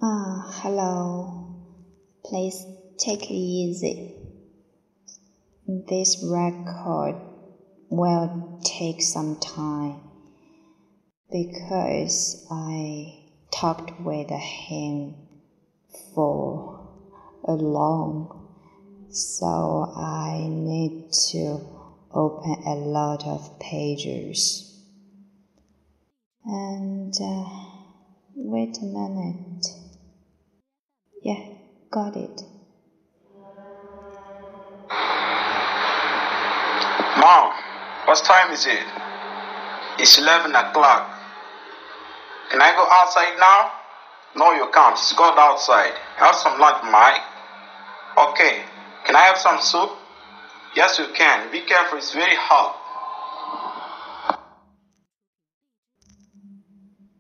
Hello. Please take it easy. This record will take some time because I talked with him for long, so I need to open a lot of pages. And wait a minute. Yeah, got it. Mom, what time is it? It's 11 o'clock. Can I go outside now? No, you can't. It's cold outside. Have some lunch, Mike. Okay. Can I have some soup? Yes, you can. Be careful. It's very hot.